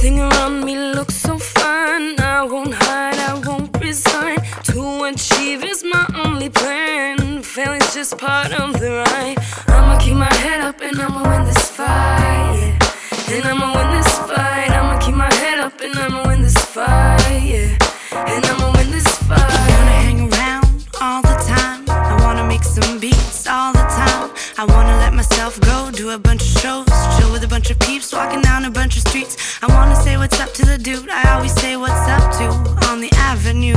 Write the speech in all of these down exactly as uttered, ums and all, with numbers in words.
Everything around me looks so fine. I won't hide, I won't resign. To achieve is my only plan. Failing's just part of the ride. I'ma keep my head up and I'ma win this fight, yeah. And I'ma win this fight. I'ma keep my head up and I'ma win this fight, yeah. And I'ma win this fight. I wanna hang around all the time. I wanna make some beats all the time. I wanna let myself go, do a bunch of shows, chill with a bunch of peeps, walking down a bunch of streets. I wanna say what's up to the dude I always say what's up to on the avenue.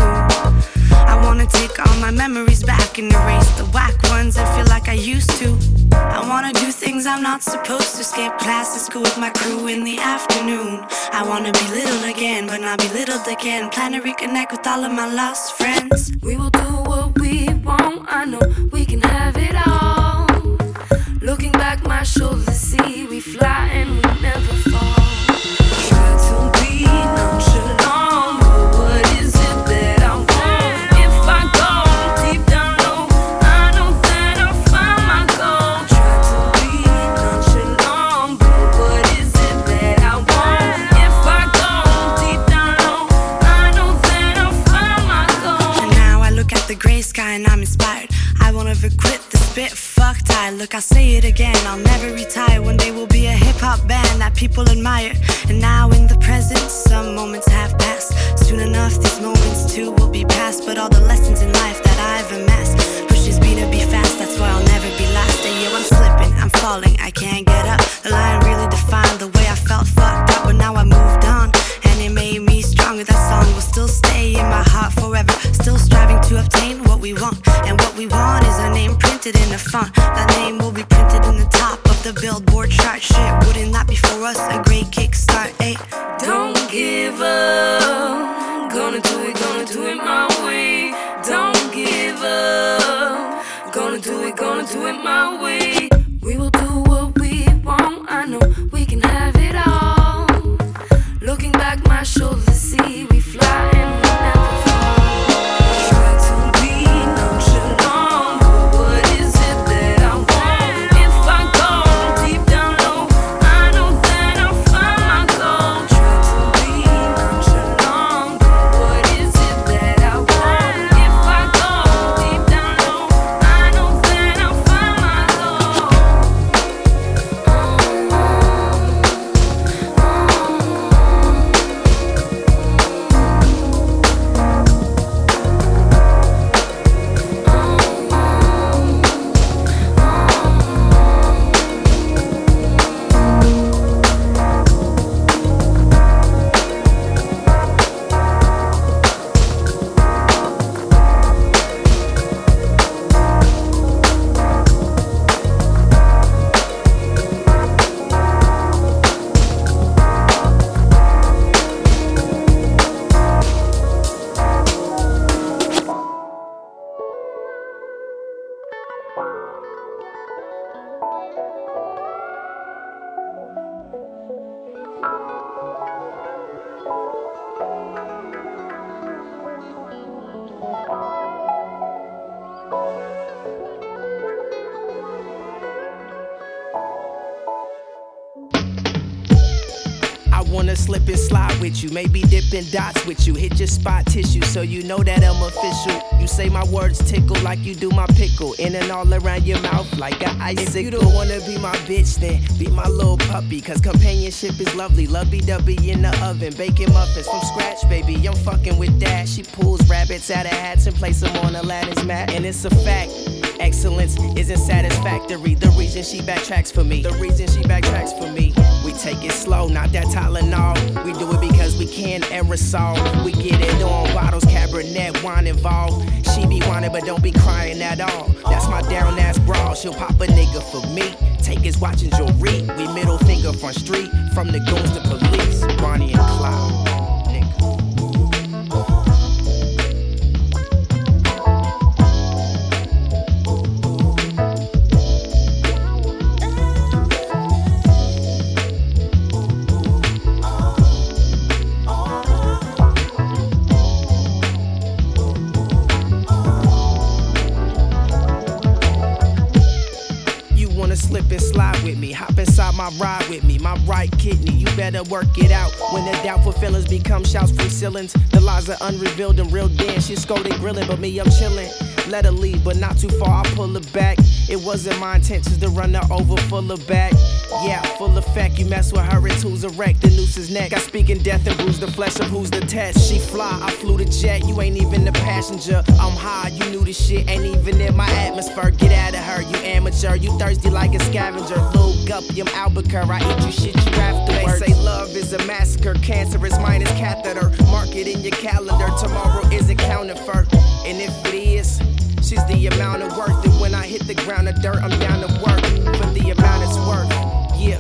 I wanna take all my memories back and erase the whack ones I feel like I used to. I wanna do things I'm not supposed to, skip class to school with my crew in the afternoon. I wanna be little again, but not belittled again. Plan to reconnect with all of my lost friends. We will do what we want, I know we can have it all. Looking back, my shoulders see we fly and we never fall. Try to be nonchalant, but what is it that I want? If I go deep down low, I know that I'll find my goal. Try to be nonchalant, but what is it that I want? If I go deep down low, I know that I'll find my goal. And now I look at the gray sky and I'm inspired. I won't ever quit the spit, fuck tired. Look, I'll say it again, I'll never retire. One day we'll be a hip-hop band that people admire. And now in the present, some moments have passed. Soon enough, these moments too will be past. But all the lessons in life that I've amassed pushes me to be fast, that's why I'll never be last. And yo, I'm slipping, I'm falling, I can't get up. The line really defined the way I felt fucked up. But now I moved on, and it made me stronger. That song will still stay in my heart forever. Still striving to obtain what we want. And what we want is a name printed in a font. That name will be printed in the top of the Billboard chart. Shit, wouldn't that be for us a great kickstart, eh? Don't give up, gonna do it, gonna do it my way. Don't give up, gonna do it, gonna do it my way. We will do what we want, I know we can have it all. Looking back, my shoulders see we fly and we never fall. Try to be nonchalant, but what is it that I want? If I go deep down low, I know that I'll find my goal. Try to be nonchalant, but what is it that I want? If I go deep down low, I know that I'll find my goal. Wanna slip and slide with you, maybe dipping dots with you. Hit your spot tissue so you know that I'm official. You say my words tickle like you do my pickle, in and all around your mouth like an icicle. If you don't wanna be my bitch, then be my little puppy. Cause companionship is lovely, lovey-dovey in the oven. Baking muffins from scratch, baby, I'm fucking with that. She pulls rabbits out of hats and places them on Aladdin's mat. And it's a fact, excellence isn't satisfactory. The reason she backtracks for me, the reason she backtracks for me. We take it slow, not that Tylenol. We do it because we can aerosol. We get it on bottles, Cabernet, wine involved. She be whining but don't be crying at all. That's my down ass bra, she'll pop a nigga for me. Take his watch and jewelry. We middle finger front street, from the goons to police. Bonnie and Clyde. wanna slip and slide with me, hop inside my ride with me, my right kidney, you better work it out. When the doubtful feelings become shouts from ceilings, the lies are unrevealed and real dead. She's scolding, grilling, but me, I'm chilling. Let her leave, but not too far, I pull her back. It wasn't my intentions to run her over, full of back. Yeah, full effect, you mess with her, it's who's a wreck, the noose is neck. I speak in death and bruise the flesh of who's the test. She fly, I flew the jet, you ain't even the passenger. I'm high, you knew the shit, ain't even in my atmosphere. Get out of her, you amateur, you thirsty like a scavenger. Lil Gupium Albuquerque, I eat you shit you afterwards. They say love is a massacre, cancerous minus catheter. Mark it in your calendar, tomorrow is accounted for. And if it is, she's the amount of worth that when I hit the ground of dirt, I'm down to work for the amount it's worth. Yeah.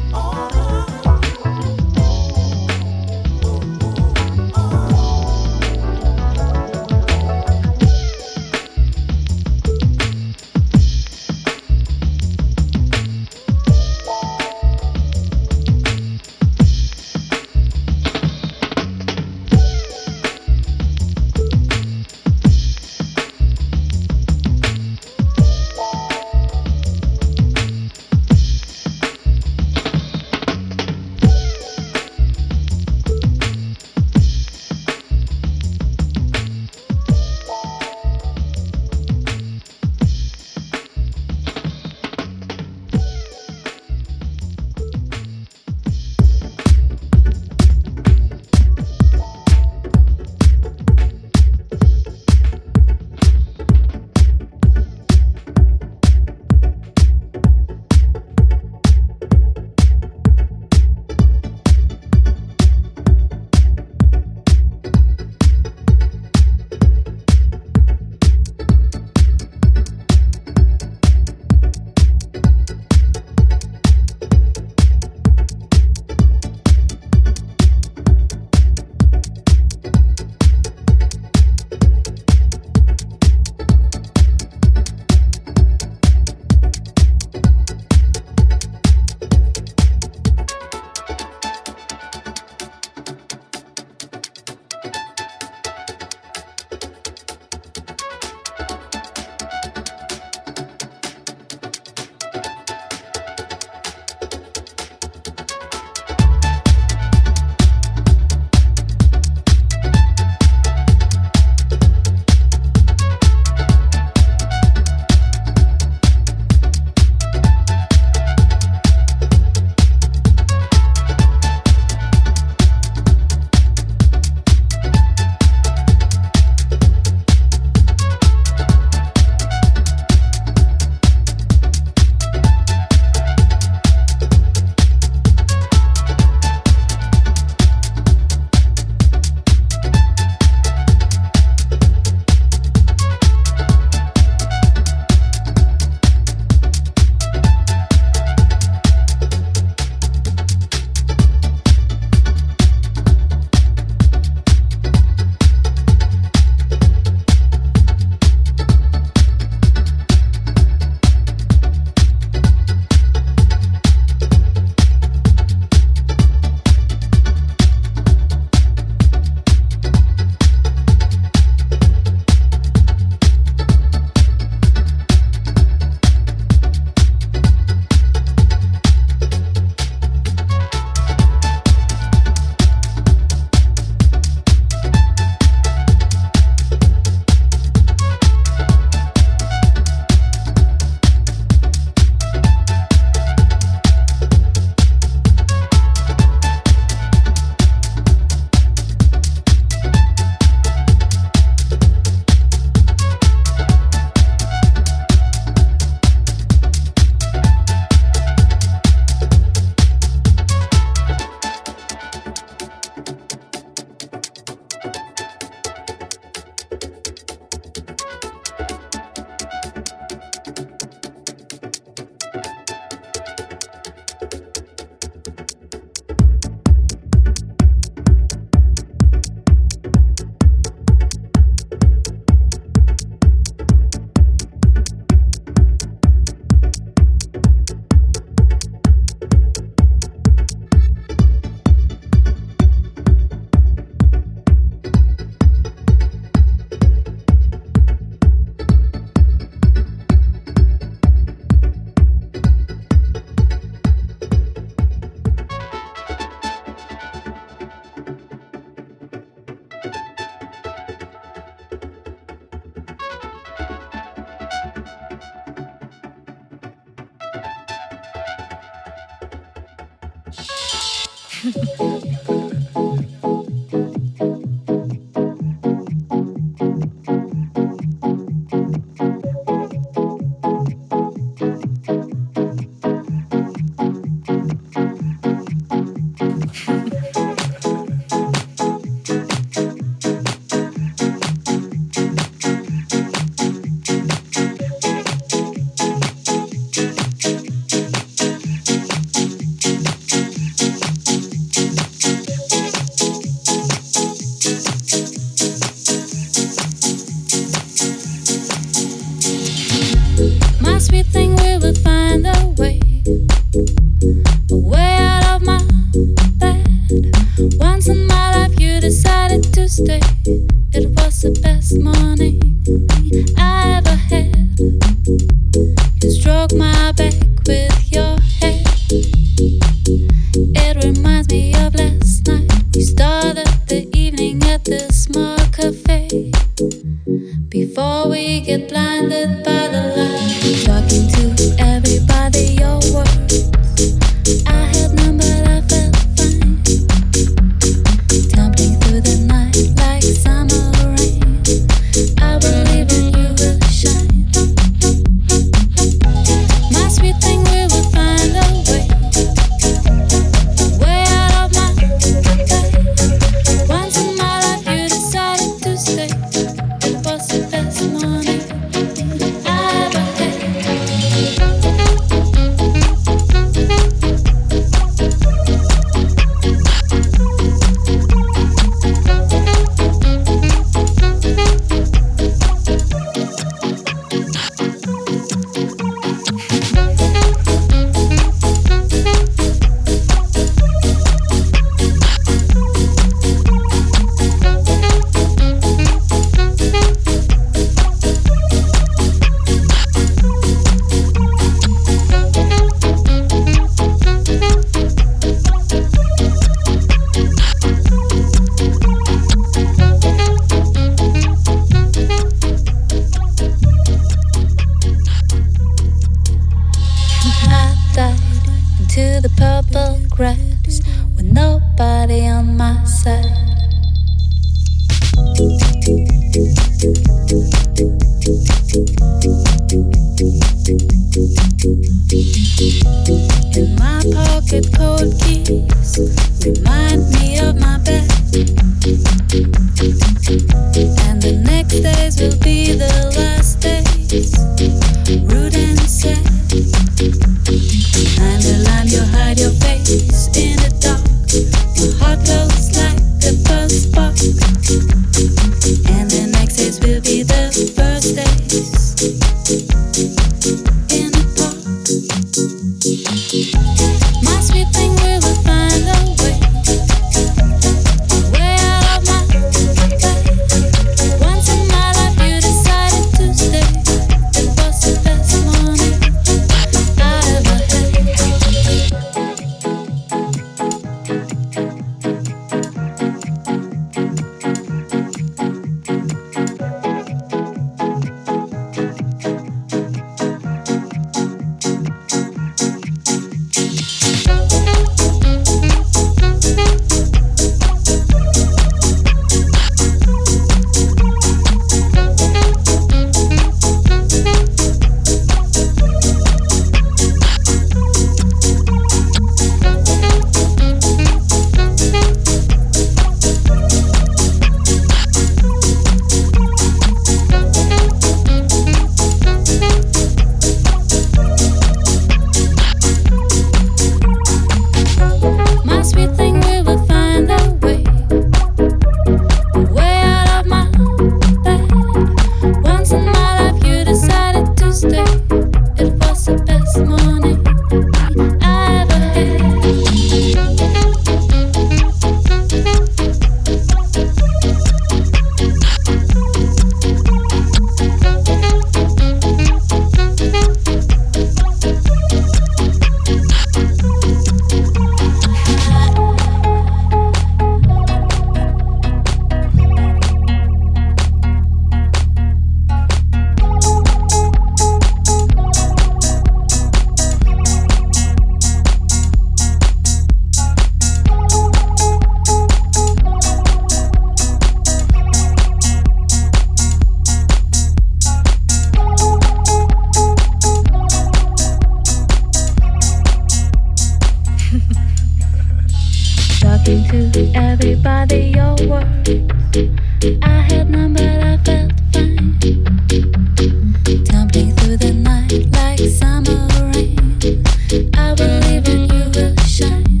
talking to everybody your words. I had none, but I felt fine. Tumbling through the night like summer rain. I believe in you will shine.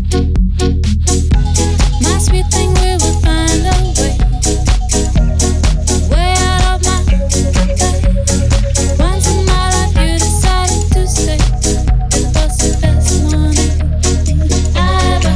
My sweet thing, we will find a way. Way out of my life. Once in my life you decided to stay. It was the best morning I ever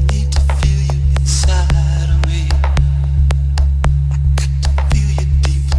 Feel you deep